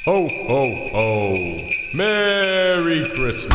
Ho, ho, ho. Merry Christmas.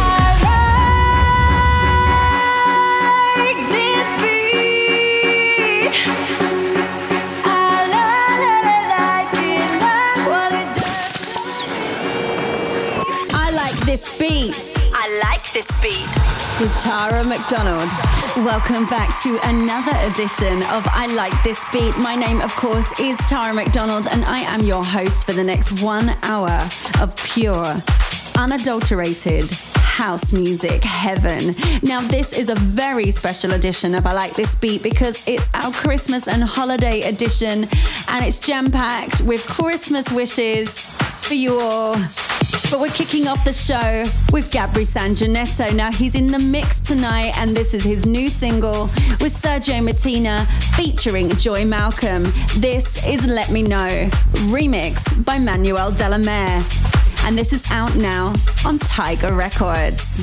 This beat. I like this beat. With Tara McDonald. Welcome back to another edition of I Like This Beat. My name, of course, is Tara McDonald, and I am your host for the next 1 hour of pure, unadulterated house music heaven. Now, this is a very special edition of I Like This Beat because it's our Christmas and holiday edition, and it's jam-packed with Christmas wishes for you all. But we're kicking off the show with Gabri Sangineto. Now, he's in the mix tonight, and this is his new single with Sergio Martina featuring Joy Malcolm. This is Let Me Know, remixed by Manuel De La Mare. And this is out now on Tiger Records.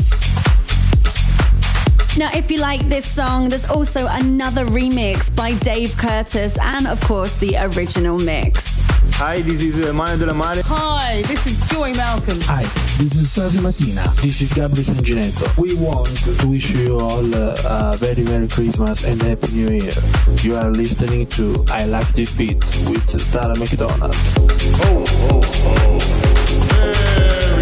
Now, if you like this song, there's also another remix by Dave Curtis and, of course, the original mix. Hi, this is Manuel De La Mare. Hi, this is Joy Malcolm. Hi, this is Sergio Martina. This is Gabri Sangineto. We want to wish you all a very Merry Christmas and Happy New Year. You are listening to I Like This Beat with Tara McDonald. Ho, ho, ho. Merry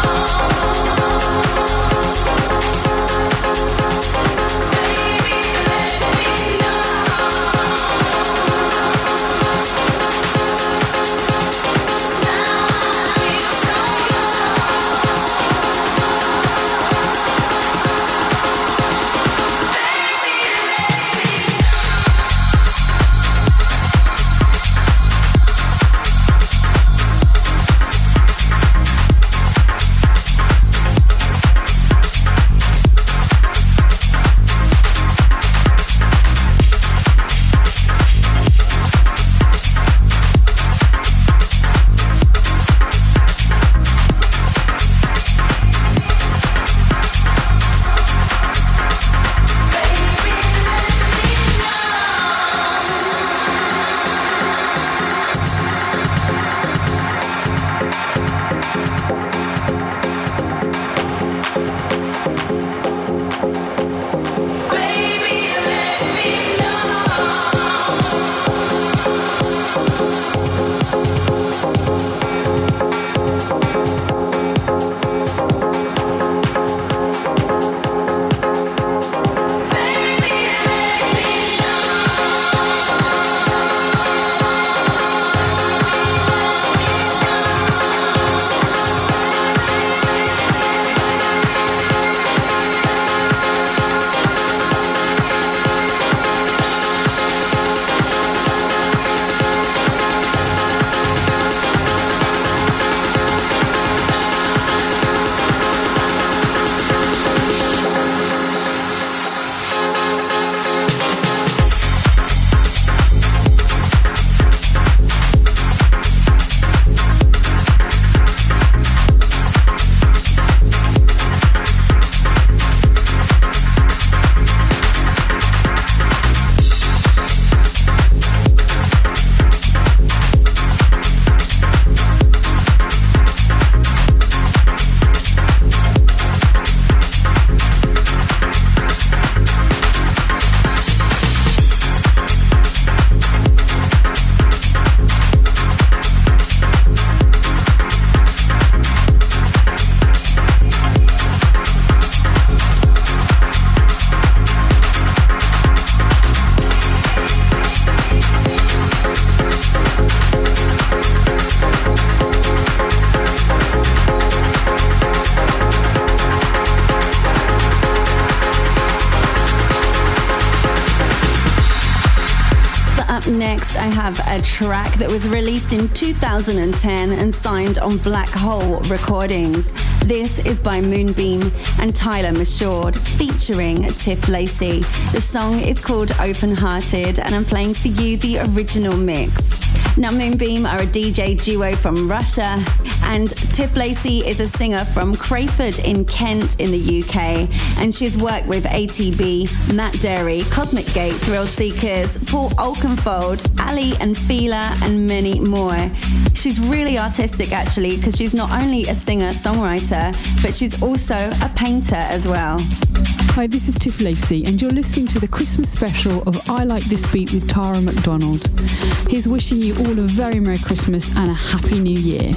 Baby, Up next, I have a track that was released in 2010 and signed on Black Hole Recordings. This is by Moonbeam and Tyler Mashord, featuring Tiff Lacey. The song is called Open Hearted, and I'm playing for you the original mix. Now, Moonbeam are a DJ duo from Russia, and Tiff Lacey is a singer from Crayford in Kent in the UK, and she's worked with ATB, Matt Derry, Cosmic Gate, Thrill Seekers, Paul Oakenfold, Ali and Fila, and many more. She's really artistic, actually, because she's not only a singer-songwriter, but she's also a painter as well. Hi, this is Tiff Lacey, and you're listening to the Christmas special of I Like This Beat with Tara McDonald. Here's wishing you all a very Merry Christmas and a Happy New Year.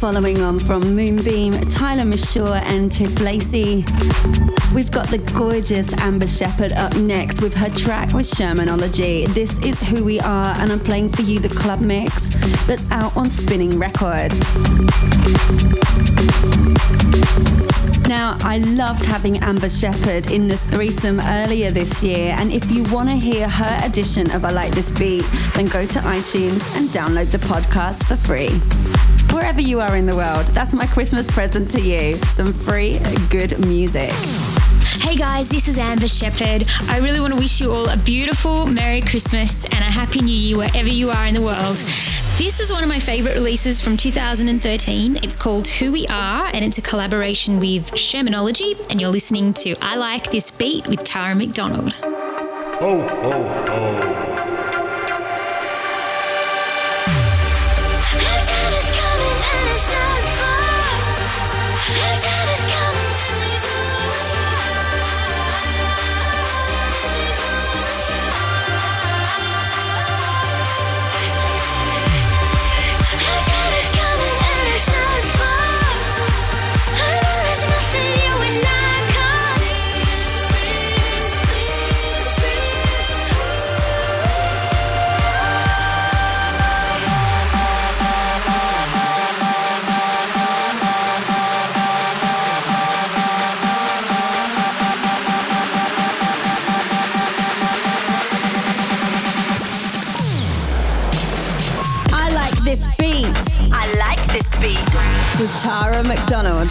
following on from Moonbeam, Tyler Mashore and Tiff Lacey. We've got the gorgeous Amber Shepherd up next with her track with Shermanology. This is Who We Are, and I'm playing for you the club mix that's out on Spinning Records. Now, I loved having Amber Shepherd in the threesome earlier this year, and if you want to hear her edition of I Like This Beat, then go to iTunes and download the podcast for free. Wherever you are in the world, that's my Christmas present to you. Some free, good music. Hey guys, this is Amber Shepherd. I really want to wish you all a beautiful Merry Christmas and a Happy New Year wherever you are in the world. This is one of my favourite releases from 2013. It's called Who We Are, and it's a collaboration with Shermanology, and you're listening to I Like This Beat with Tara McDonald. Ho, ho, ho. Time is coming and it's not far. Time is coming. Time is coming and it's not far. I know there's nothing you and I can't. This beat. I like this beat. With Tara McDonald.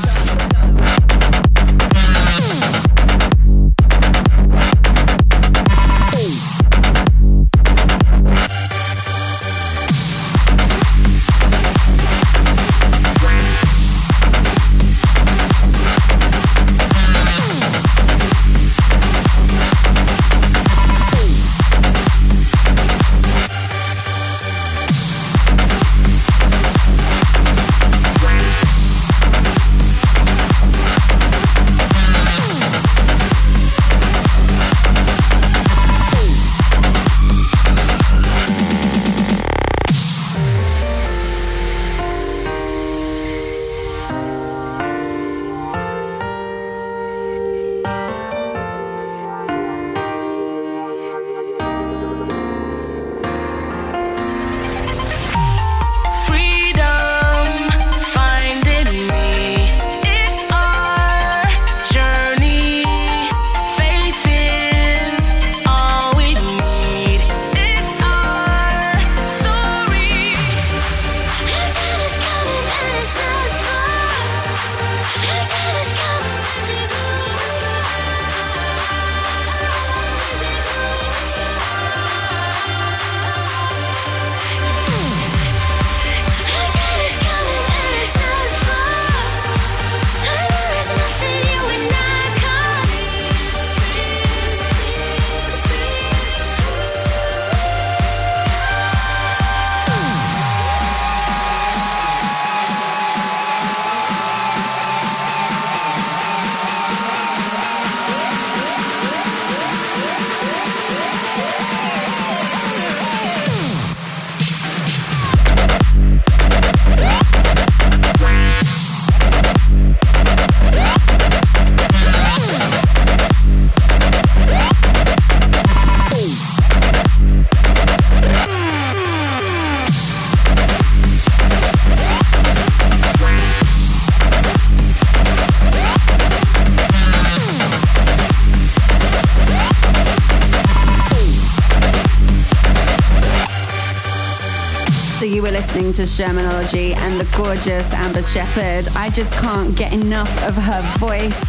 You were listening to Shermanology and the gorgeous Amber Shepherd. I just can't get enough of her voice.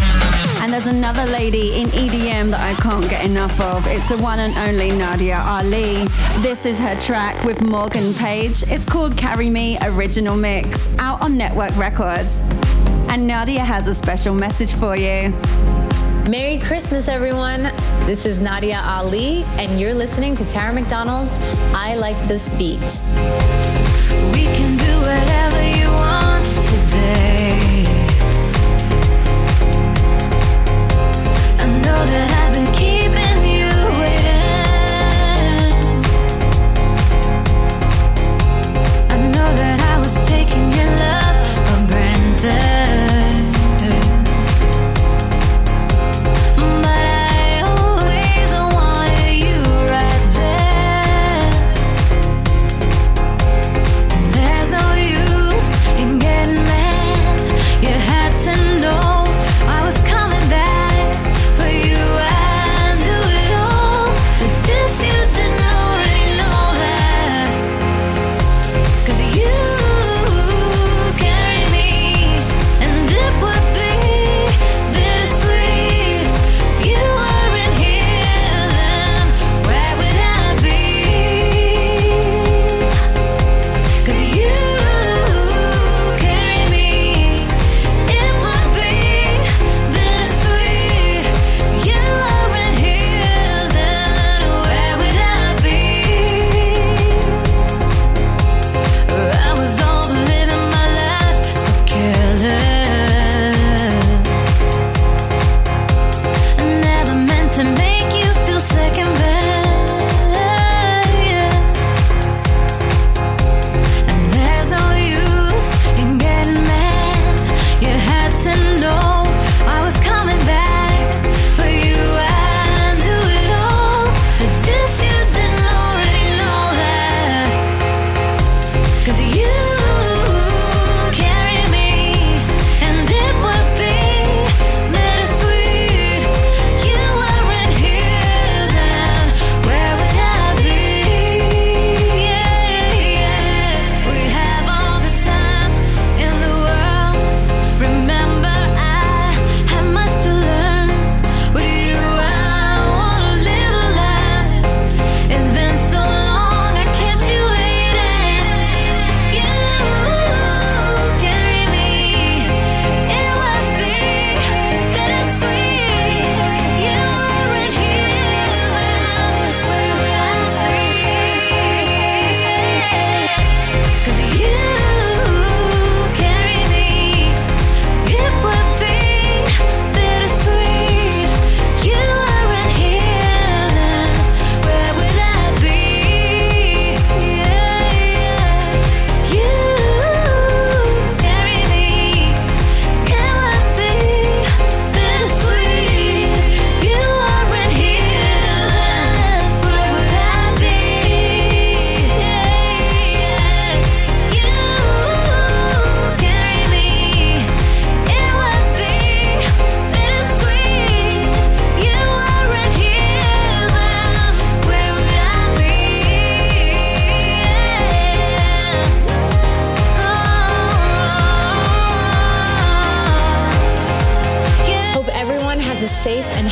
And there's another lady in EDM that I can't get enough of. It's the one and only Nadia Ali. This is her track with Morgan Page. It's called Carry Me Original Mix, out on Network Records. And Nadia has a special message for you. Merry Christmas, everyone. This is Nadia Ali, and you're listening to Tara McDonald's I Like This Beat. We can do whatever you want today. I know that I've been keeping you waiting. I know that I was taking your love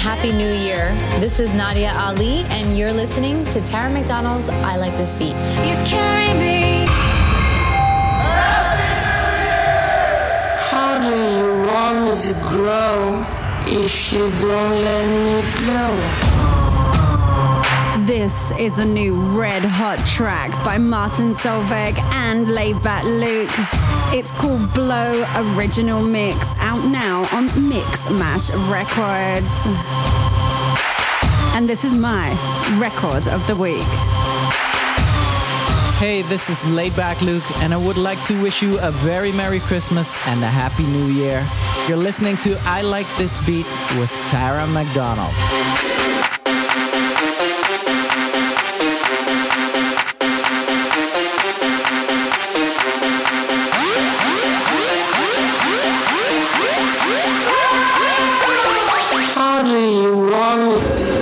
Happy New Year. This is Nadia Ali, and you're listening to Tara McDonald's I Like This Beat. You carry me. How do you want me to grow if you don't let me blow? This is a new red hot track by Martin Solveig and Laidback Luke. It's called Blow Original Mix, out now on Mix Mash Records. And this is my record of the week. Hey, this is Laidback Luke, and I would like to wish you a very Merry Christmas and a Happy New Year. You're listening to I Like This Beat with Tara McDonald. How do you want me to?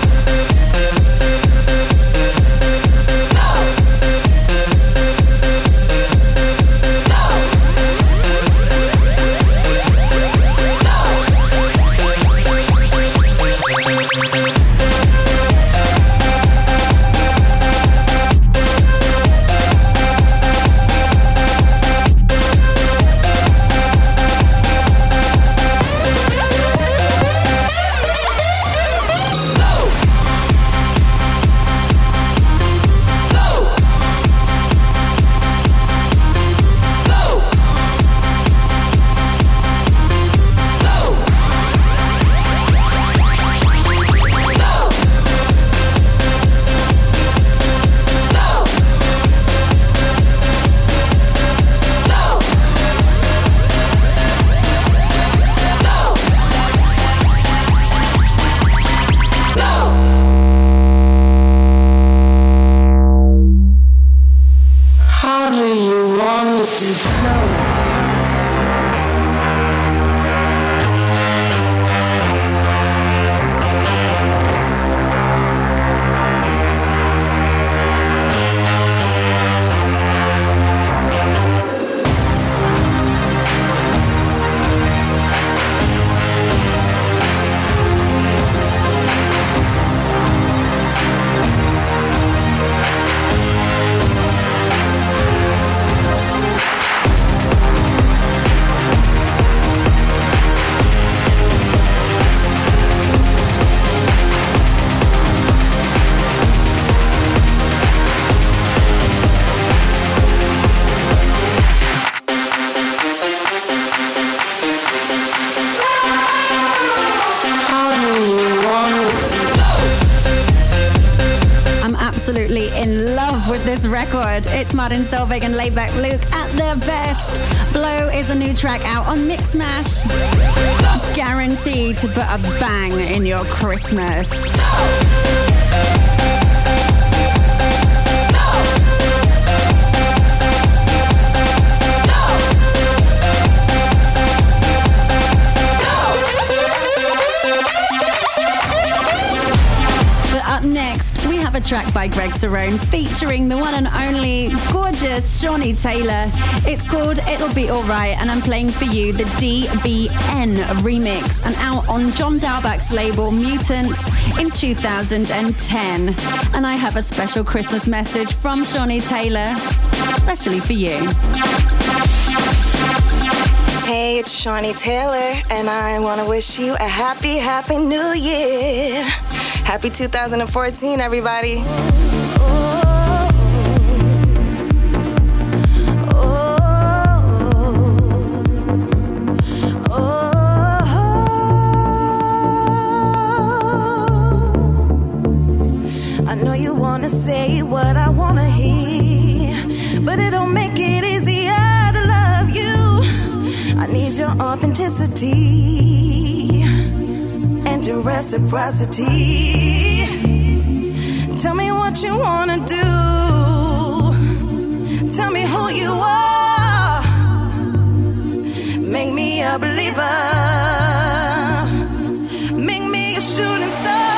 Record. It's Martin Solveig and Laidback Luke at their best. Blow is a new track out on Mix Mash. Guaranteed to put a bang in your Christmas. Up next, we have a track by Greg Cerrone featuring the one and only gorgeous Shawnee Taylor. It's called It'll Be Alright, and I'm playing for you the DBN remix, and out on John Dalbach's label Mutants in 2010. And I have a special Christmas message from Shawnee Taylor, especially for you. Hey, it's Shawnee Taylor, and I want to wish you a happy, happy new year. Happy 2014, everybody. I know you wanna say what I wanna hear, but it don't make it easier to love you. I need your authenticity and your reciprocity. Tell me what you wanna do. Tell me who you are. Make me a believer. Make me a shooting star.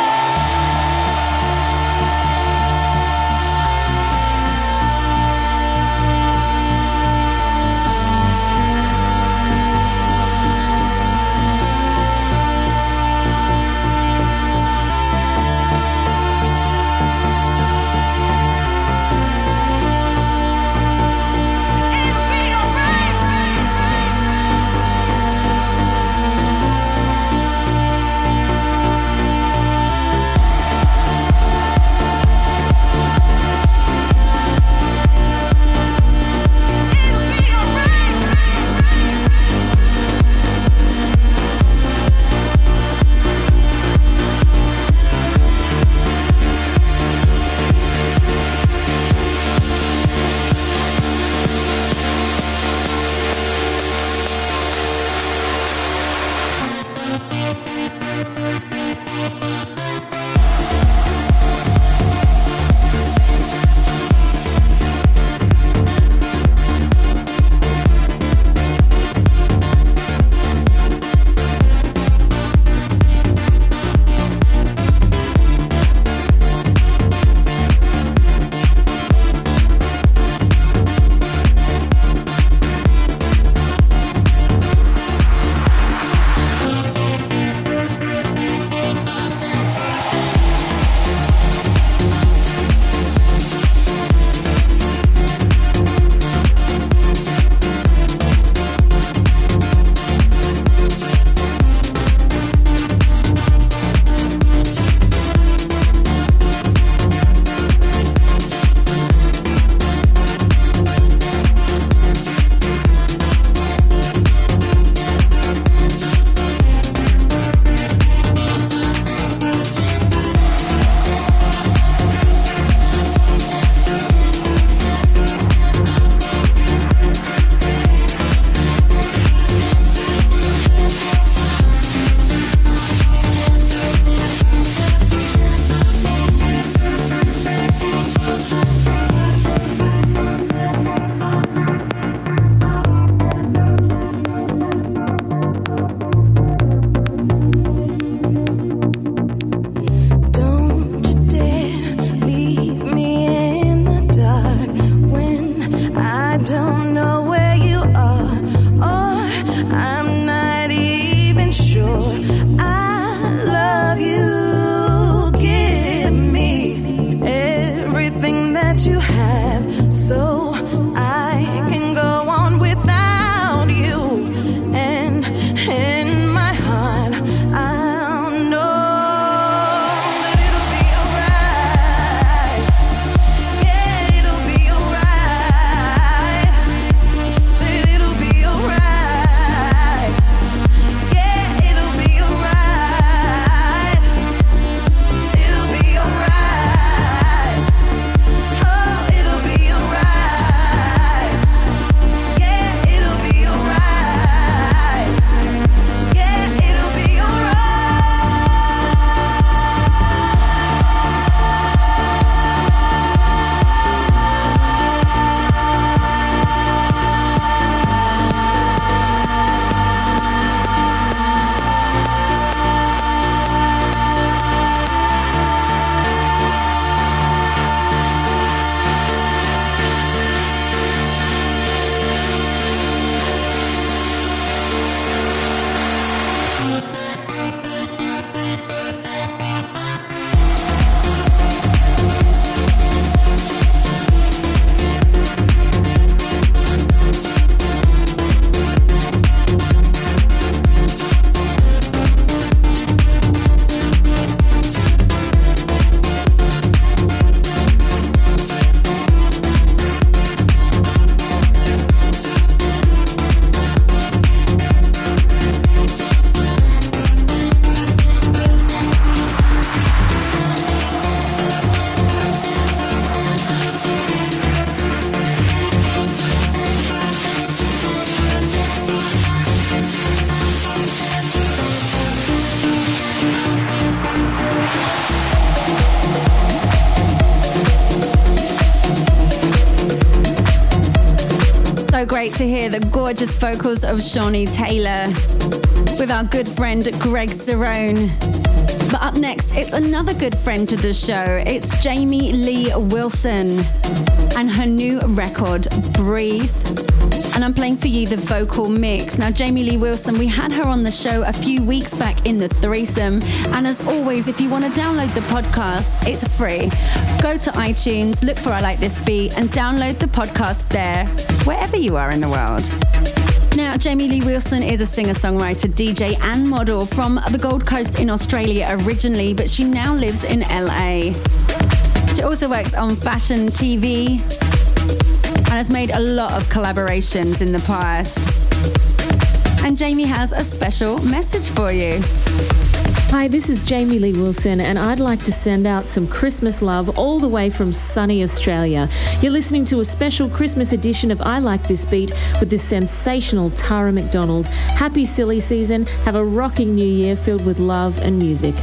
great to hear the gorgeous vocals of Shawnee Taylor with our good friend Greg Cerrone. But up next, it's another good friend to the show. It's Jamie Lee Wilson and her new record, Breathe. And I'm playing for you the vocal mix. Now, Jamie Lee Wilson, we had her on the show a few weeks back in the threesome. And as always, if you want to download the podcast, it's free. Go to iTunes, look for I Like This Beat, and download the podcast there, wherever you are in the world. Now, Jamie Lee Wilson is a singer-songwriter, DJ and model from the Gold Coast in Australia originally, but she now lives in LA. She also works on fashion TV and has made a lot of collaborations in the past. And Jamie has a special message for you. Hi, this is Jamie Lee Wilson, and I'd like to send out some Christmas love all the way from sunny Australia. You're listening to a special Christmas edition of I Like This Beat with this sensational Tara McDonald. Happy silly season. Have a rocking new year filled with love and music.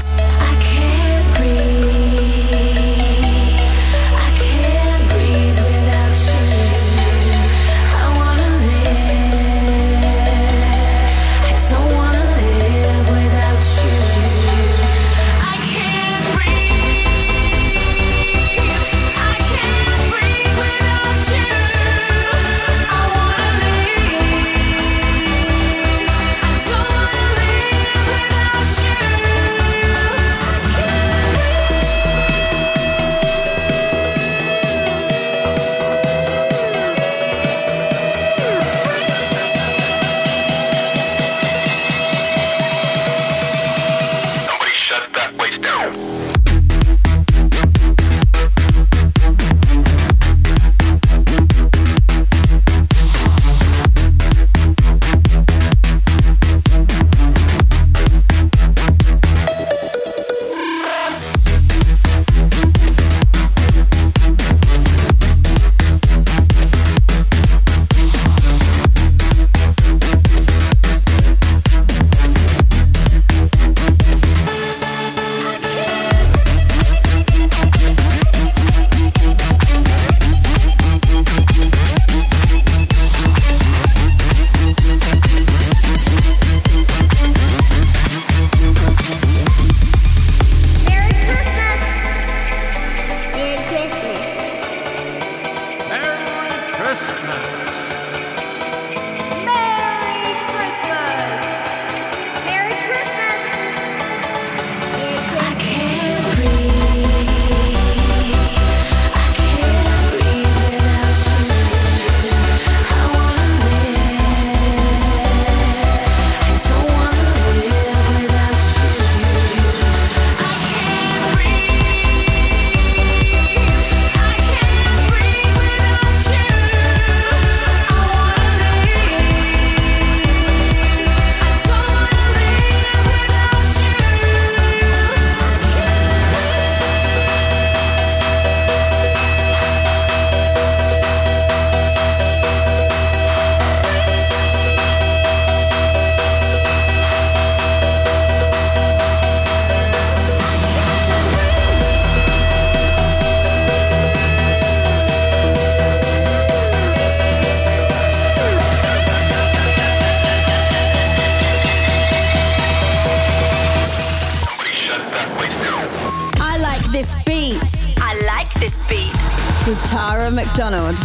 Tara McDonald.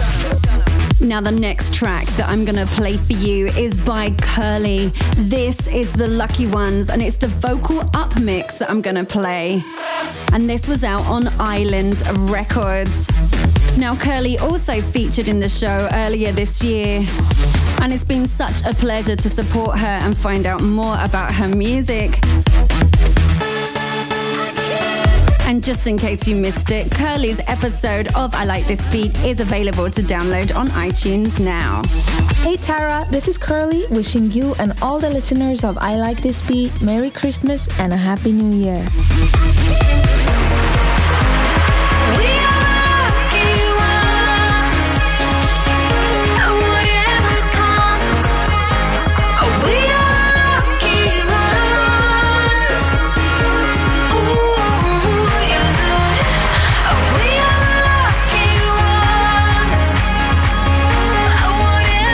Now the next track that I'm going to play for you is by Curly. This is The Lucky Ones, and it's the vocal up mix that I'm going to play. And this was out on Island Records. Now Curly also featured in the show earlier this year, and it's been such a pleasure to support her and find out more about her music. And just in case you missed it, Curly's episode of I Like This Beat is available to download on iTunes now. Hey Tara, this is Curly wishing you and all the listeners of I Like This Beat Merry Christmas and a Happy New Year. Whatever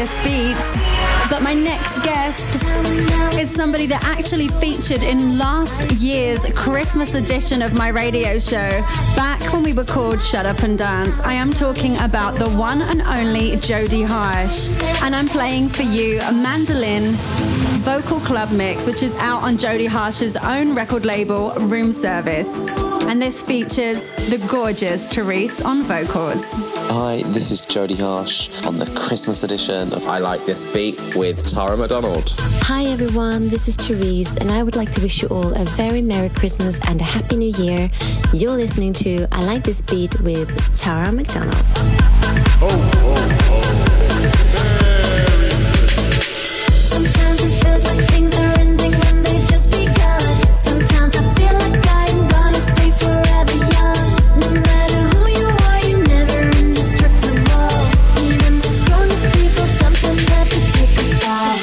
This Beat. But my next guest is somebody that actually featured in last year's Christmas edition of my radio show, back when we were called Shut Up and Dance. I am talking about the one and only Jodie Harsh. And I'm playing for you a mandolin vocal club mix, which is out on Jodie Harsh's own record label, Room Service. And this features the gorgeous Therese on vocals. Hi, this is Jodie Harsh on the Christmas edition of I Like This Beat with Tara McDonald. Hi everyone, this is Therese and I would like to wish you all a very Merry Christmas and a Happy New Year. You're listening to I Like This Beat with Tara McDonald. Sometimes it feels like things are ending when they just begun. Sometimes I feel like I am gonna stay forever young. No matter who you are, you're never indestructible. Even the strongest people sometimes have to take a fall.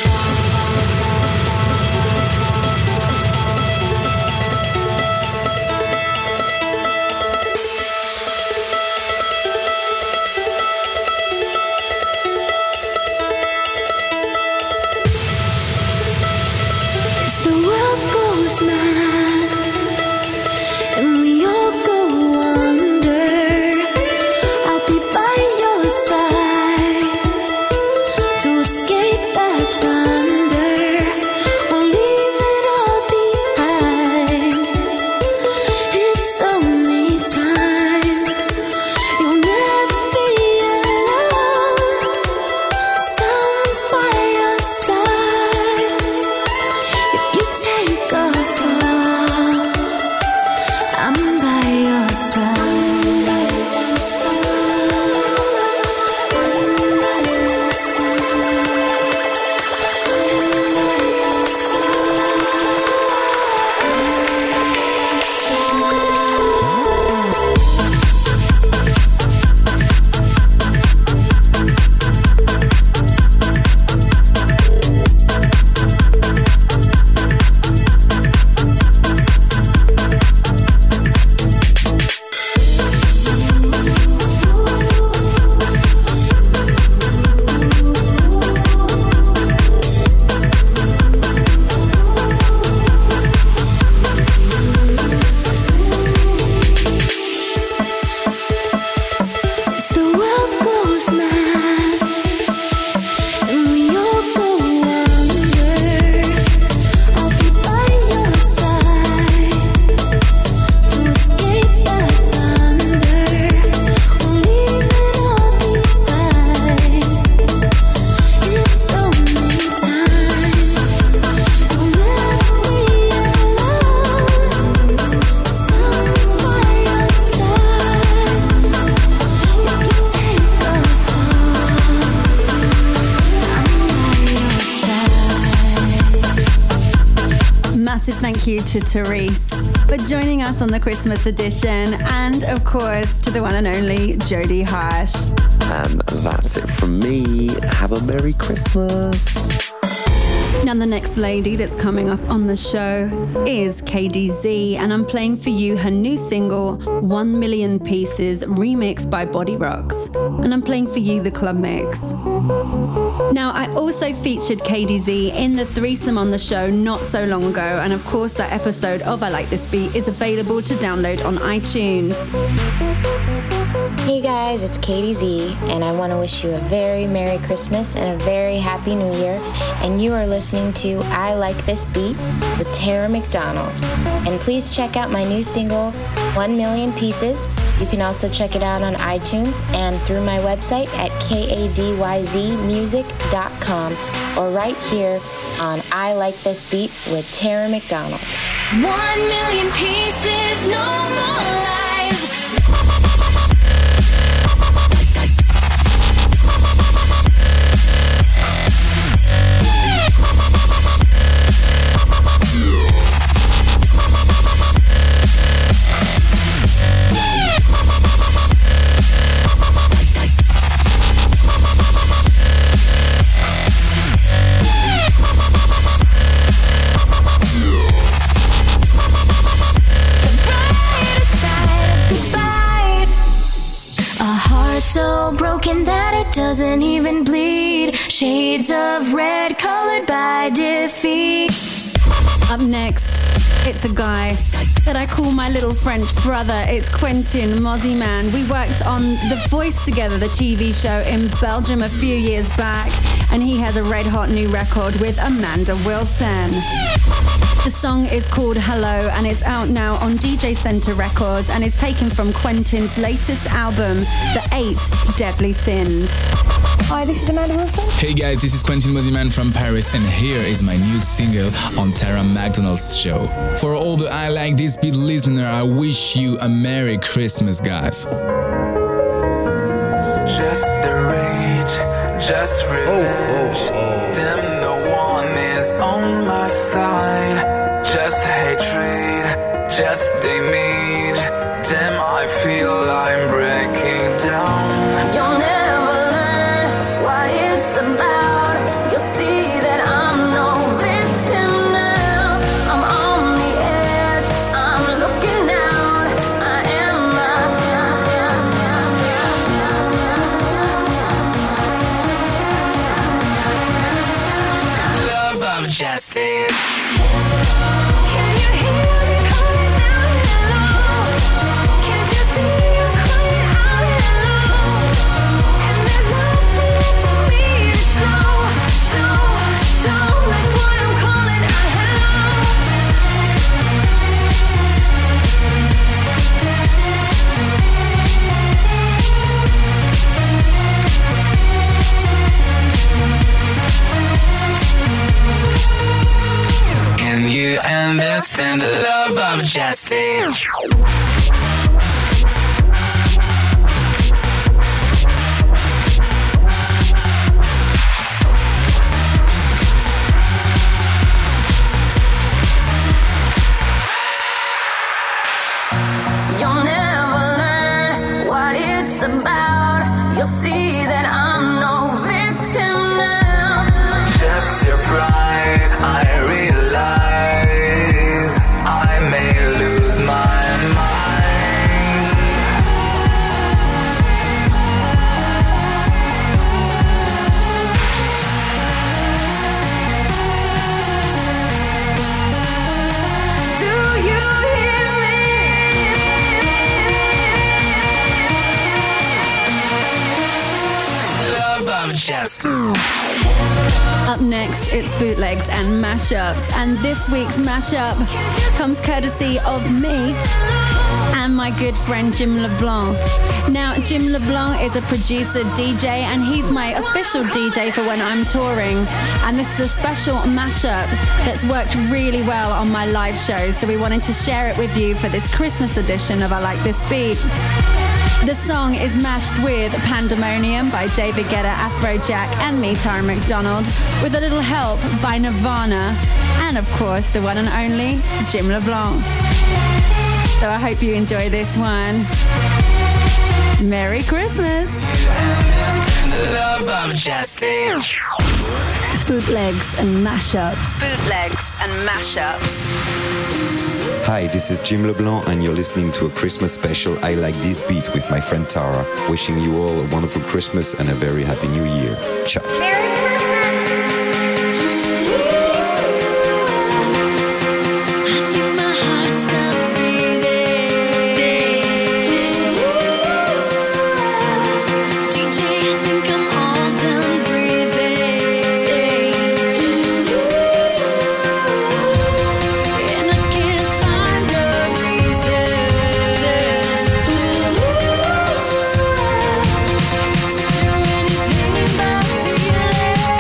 Thank you to Therese for joining us on the Christmas edition, and of course to the one and only Jodie Harsh. And that's it from me. Have a Merry Christmas. Now the next lady that's coming up on the show is KDZ, and I'm playing for you her new single 1 Million Pieces, remixed by Body Rocks, and I'm playing for you the club mix. Now I also featured KDZ in the threesome on the show not so long ago, and of course that episode of I Like This Beat is available to download on iTunes. Hey guys, it's KDZ, and I want to wish you a very Merry Christmas and a very Happy New Year. And you are listening to I Like This Beat with Tara McDonald. And please check out my new single, 1 Million Pieces. You can also check it out on iTunes and through my website at kadyzmusic.com or right here on I Like This Beat with Tara McDonald. 1 million pieces, no more lies. So broken that it doesn't even bleed. Shades of red colored by defeat. Up next, it's a guy that I call my little French brother. It's Quentin Mosimann. We worked on The Voice together, the TV show in Belgium a few years back, and he has a red hot new record with Amanda Wilson. The song is called Hello, and it's out now on DJ Center Records and is taken from Quentin's latest album, The 8 Deadly Sins. Hi, this is Amanda Wilson. Hey guys, this is Quentin Mosimann from Paris, and here is my new single on Tara McDonald's show. For all the I Like This Beat listener, I wish you a Merry Christmas, guys. Just the rage, just revenge. Damn, no one is on my side. Just hatred, just damage. Damn, I feel I'm breaking down. You'll never learn what it's about. You'll see that I'm no victim now. I'm on the edge, I'm looking out. I am love of justice. Can you understand the love of justice? You'll never learn what it's about. You'll see that I'm no victim now. Just surprised, I realize I may lose my mind. Do you hear me? Love of justice. Up next, it's bootlegs and mashups, and this week's mashup comes courtesy of me and my good friend Jim LeBlanc. Now, Jim LeBlanc is a producer, DJ, and he's my official DJ for when I'm touring, and this is a special mashup that's worked really well on my live shows, so we wanted to share it with you for this Christmas edition of I Like This Beat. The song is mashed with Pandemonium by David Guetta, Afrojack, and me, Tara McDonald, with a little help by Nirvana, and of course, the one and only Jim LeBlanc. So I hope you enjoy this one. Merry Christmas! Love of justice. Bootlegs and mashups. Bootlegs and mashups. Hi, this is Jim LeBlanc, and you're listening to a Christmas special I Like This Beat with my friend Tara. Wishing you all a wonderful Christmas and a very happy New Year. Ciao. Anything but feeling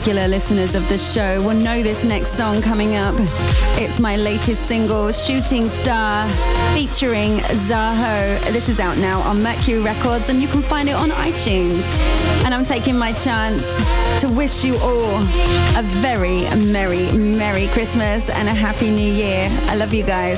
regular listeners of the show will know this next song coming up. It's my latest single, Shooting Star, featuring Zaho. This is out now on Mercury Records, and you can find it on iTunes. And I'm taking my chance to wish you all a very merry, merry Christmas and a happy new year. I love you guys.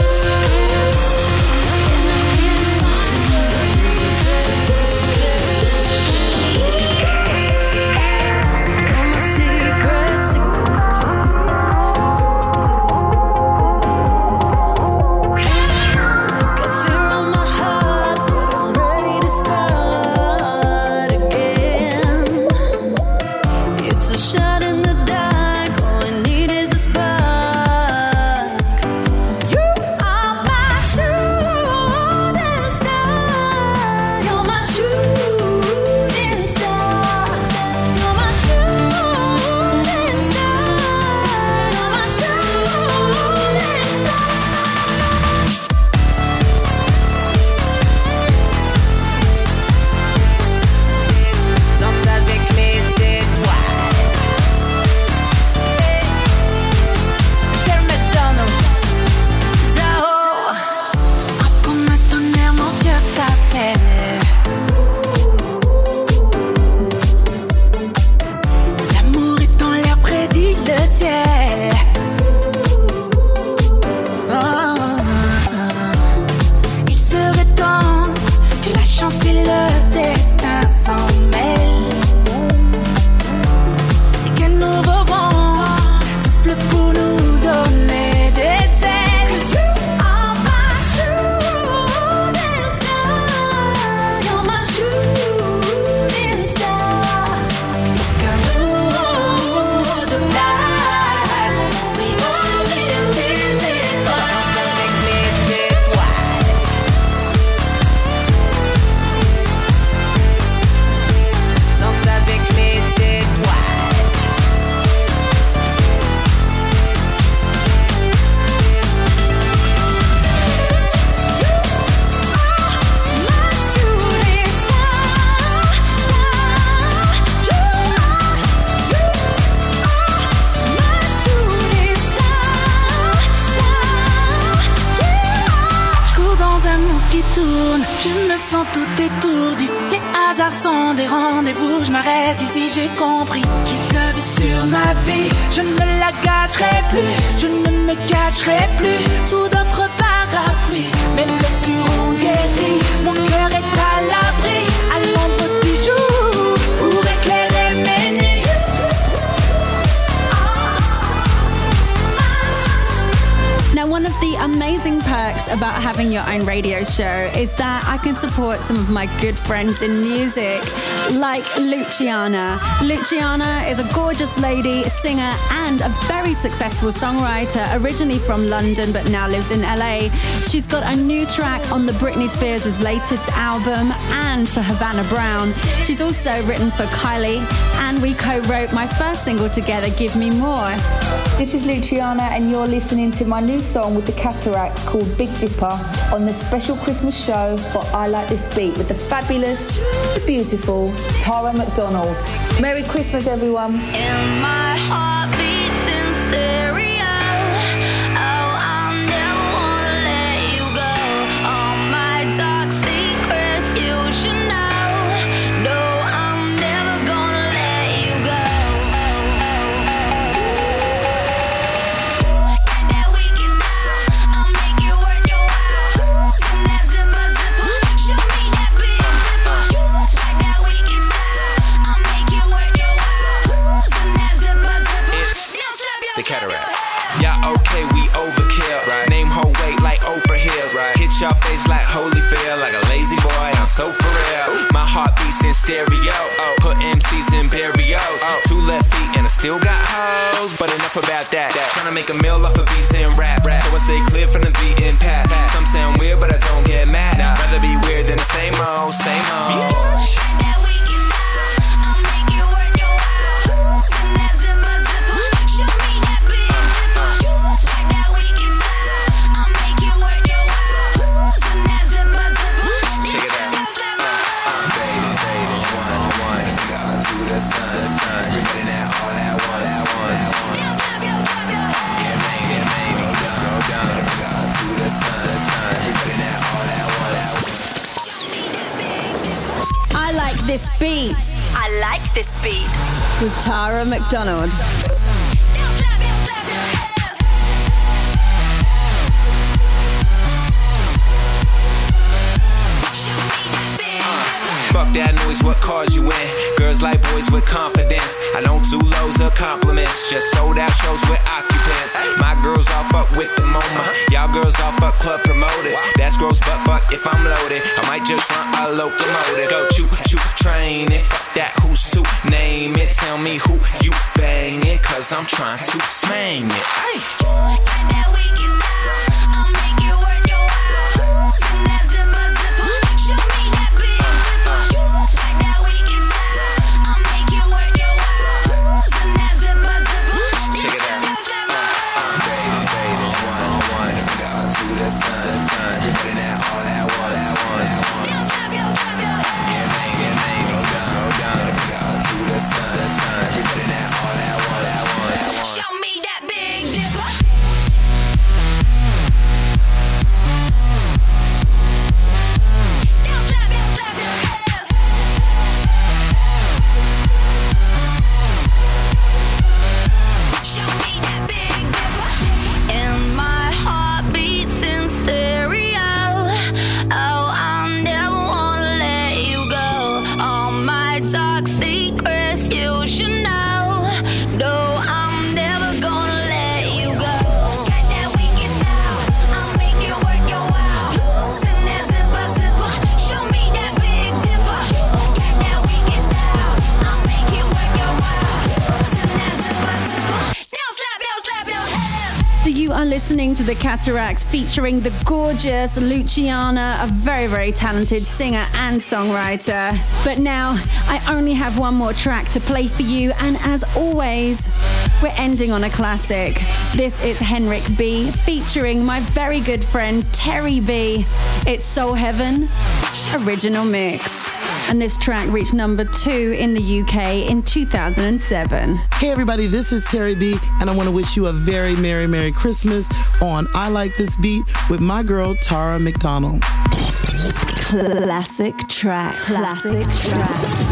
Ici j'ai compris qu'il pleuvait sur ma vie. Je ne me la cacherai plus, je ne me cacherai plus sous d'autres parapluies. Mes blessures ont guéri, mon cœur est à l'abri, à l'ombre du jour, pour éclairer mes nuits. Now, one of the amazing perks about having your own radio show is that I can support some of my good friends in music, like Luciana. Luciana is a gorgeous lady, singer, and a very successful songwriter, originally from London but now lives in LA. She's got a new track on the Britney Spears' latest album and for Havana Brown. She's also written for Kylie, and we co-wrote my first single together, Give Me More. This is Luciana, and you're listening to my new song with the Cataracts called Big Dipper on the special Christmas show for I Like This Beat with the fabulous, the beautiful Tara McDonald. Merry Christmas, everyone. And my heart beats in stereo. Oh, I never wanna let you go. All my dark secrets you should know. No, I'm never gonna let you go. That wicked style, I'll make it worth your while. Send that zipper, zipper, show me that big zipper. That wicked style, I'll make it worth your while. Send that zipper, zipper. The Cataract. Yeah, okay, we overkill. Right. Name whole weight like Oprah Hills. Right. Hit your face like Holyfield, like a lazy boy. I'm so for real. My heart beats in stereo. Put MCs in barrios. 2 left feet and I still got hoes. But enough about that. Tryna make a meal off of beats and raps. So I stay clear from the beaten path. Some sound weird, but I don't get mad. Rather be weird than the same old, same old. That wicked style, I'll make it worth your while. Send that zipper, zipper, show me that big zipper. That wicked style, I'll make it worth your while. Send that zipper, zipper. Check it out. Faded, one, to the sun, we're getting that all This Beat with Tara McDonald. Fuck that noise, what cars you in? Girls like boys with confidence. I know two lows of compliments. Just sold out shows with occupants. My girls all fuck with the MoMA. Y'all girls all fuck club promoters. That's gross, but fuck if I'm loaded. I might just run a locomotive. Go choo choo train it. Fuck that who's who. Name it. Tell me who you banging. Cause I'm trying to smang it. Hey. Listening to the Cataracts featuring the gorgeous Luciana, a very, very talented singer and songwriter. But now I only have one more track to play for you, and as always, we're ending on a classic. This is Henrik B featuring my very good friend Terry B. It's Soul Heaven original mix. And this track reached number 2 in the UK in 2007. Hey everybody, this is Terry B, and I want to wish you a very Merry Christmas on I Like This Beat with my girl Tara McDonald. Classic track. Classic track.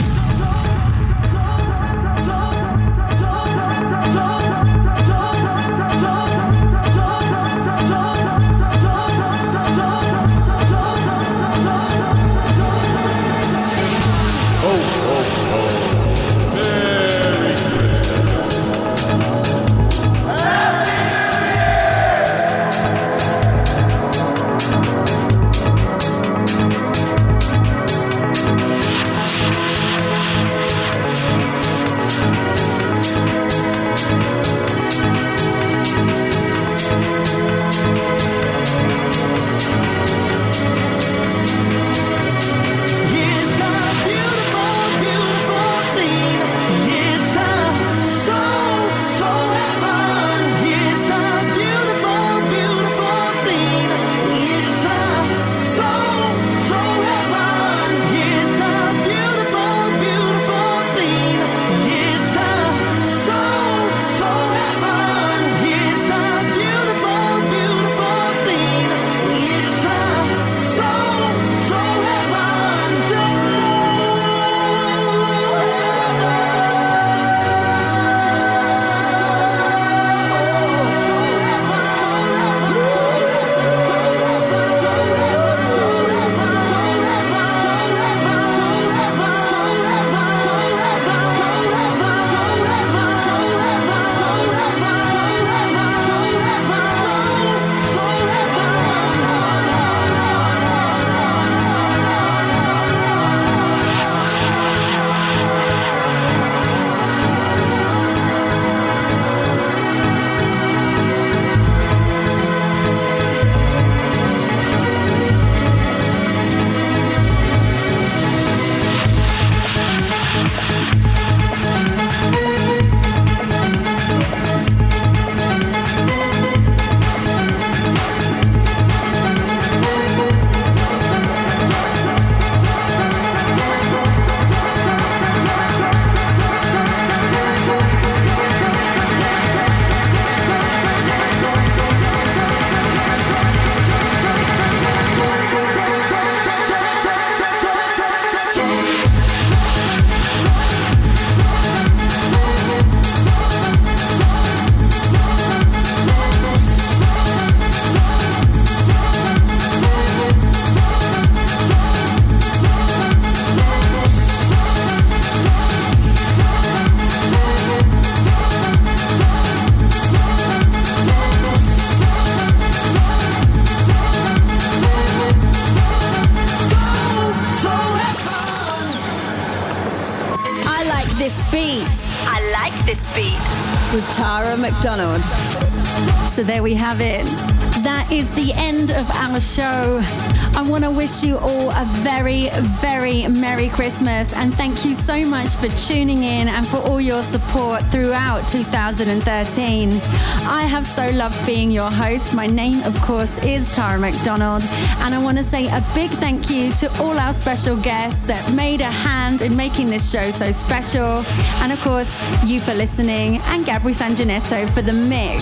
with Tara McDonald. So there we have it. That is the end of our show. I want to wish you all a very, very Merry Christmas, and thank you so much for tuning in and for all your support throughout 2013. I have so loved being your host. My name, of course, is Tara McDonald, and I want to say a big thank you to all our special guests that made a hand in making this show so special, and of course, you for listening, and Gabri Sanjanetto for the mix.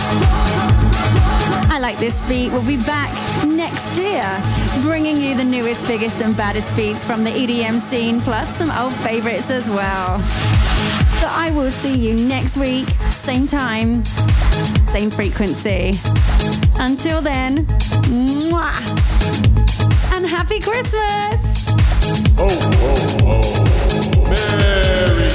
I Like This Beat will be back next year, bringing you the newest, biggest and baddest beats from the EDM scene, plus some old favorites as well. So I will see you next week, same time, same frequency. Until then, mwah, and happy Christmas! Ho, ho, ho. Merry